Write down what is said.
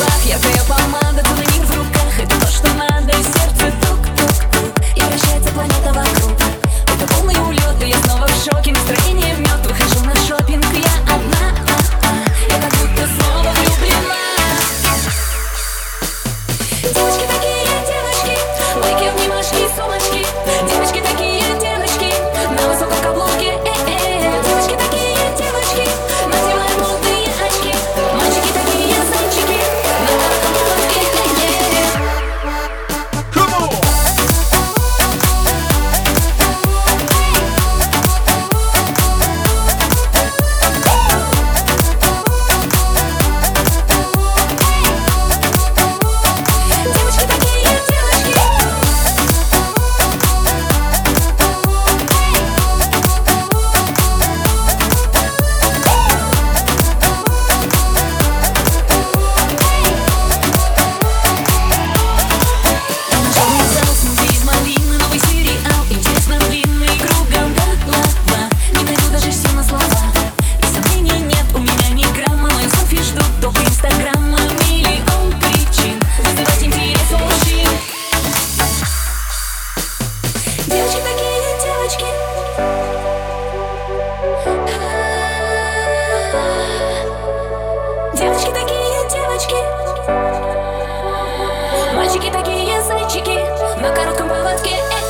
губах, яркая помада, целый мир в руках. Это то, что надо, и сердце тук-тук-тук. И вращается планета вокруг. Это полный улет, и я снова в шоке. Настроение в мед, выхожу на шопинг. Я одна, я как будто снова влюблена. Девочки такие, девочки, лайки, обнимашки, сумочки. Девочки такие, девочки, на высоком каблуке. Девочки такие, девочки, надевают модные очки. Мальчики такие, зайчики, на коротком поводке. Девочки такие, девочки. Черный зал, смузи из малины, новый сериал. Интересно, длинный, кругом голова. Не найду даже сил на слова. И сомнений нет, у меня ни грамма. Мою селфи ждут только инстаграма. Миллион причин вызывать интерес у мужчин. Девочки такие, девочки. Девочки такие, девочки. Мальчики такие, зайчики, на коротком поводке.